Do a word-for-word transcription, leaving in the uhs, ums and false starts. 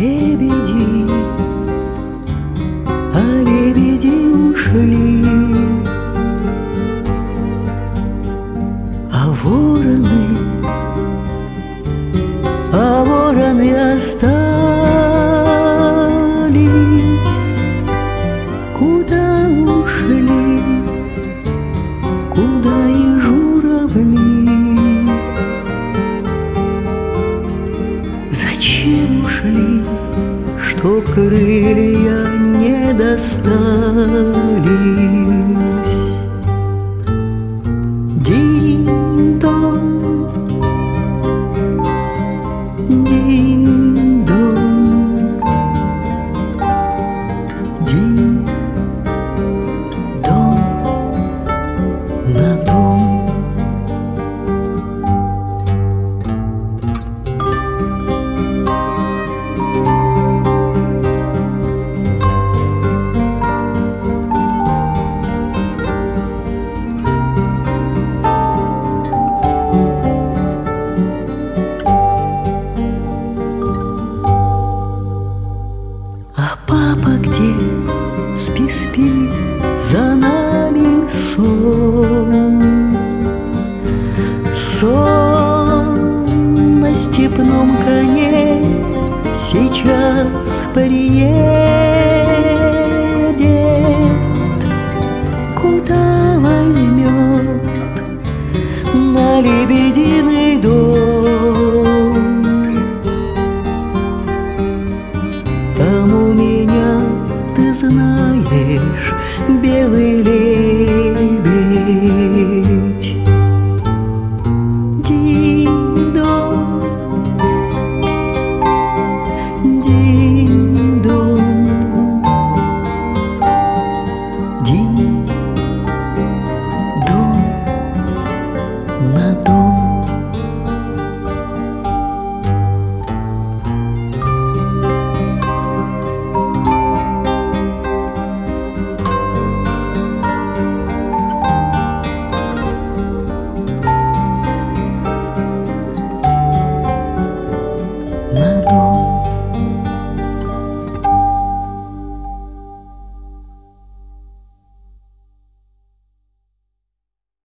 лебеди, а лебеди ушли, а вороны, а вороны остались. Куда ушли, куда и журавли? Зачем ушли, чтоб крылья не достались? Динь-дон, динь-дон, динь-дон на дом. А папа где? Спи, спи, за нами сон. Сон на степном коне сейчас приедет. Куда возьмет? На лебединый дом.